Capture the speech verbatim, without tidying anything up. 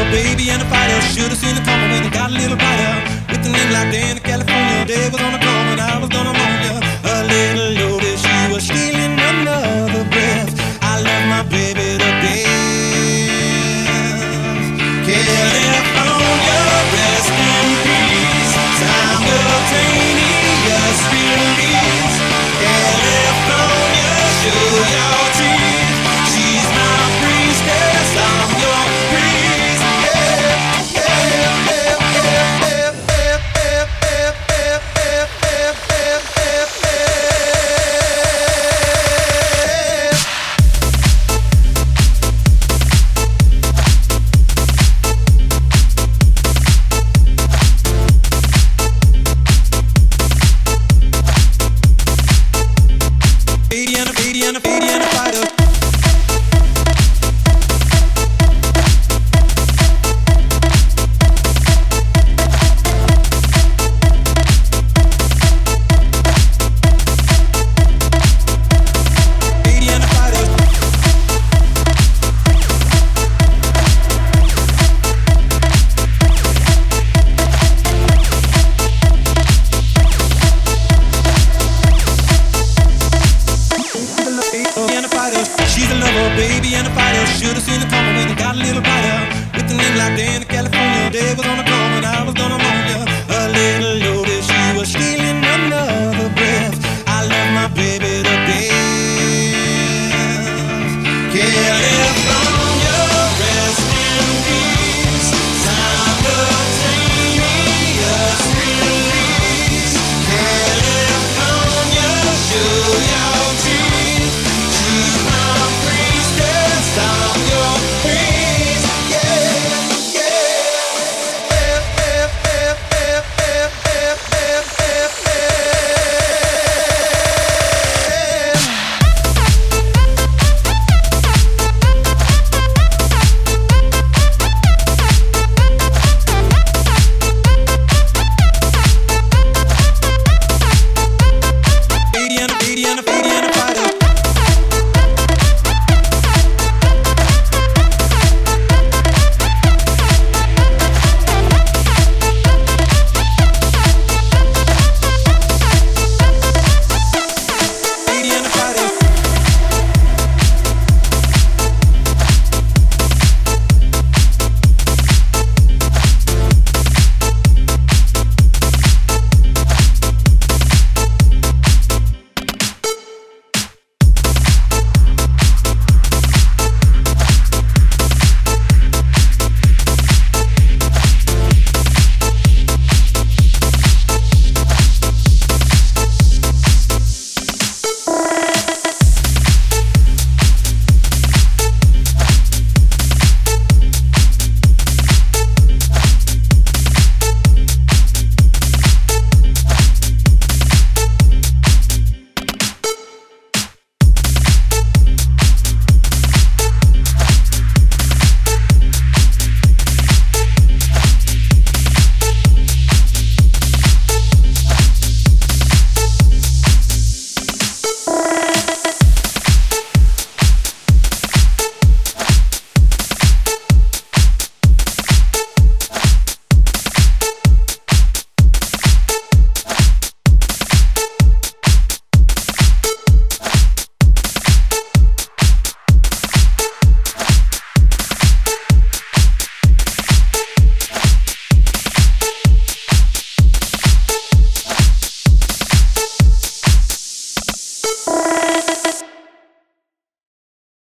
baby and a fighter. Should've seen it coming when it got a little brighter. With a name like Dan in California, day was gonna come and I was gonna moan ya. A little loaded, she was stealing another breath. I love my baby to death. California, rest in peace. Simultaneous release. California, show your teeth. She's my priestess, I'm your priest. Yeah, yeah, yeah, yeah, yeah, yeah, yeah, yeah, yeah, yeah, and a baby and a baby and a fighter. She's a lover, baby and a fighter. Should've seen it coming when it got a little brighter. With a name like Dan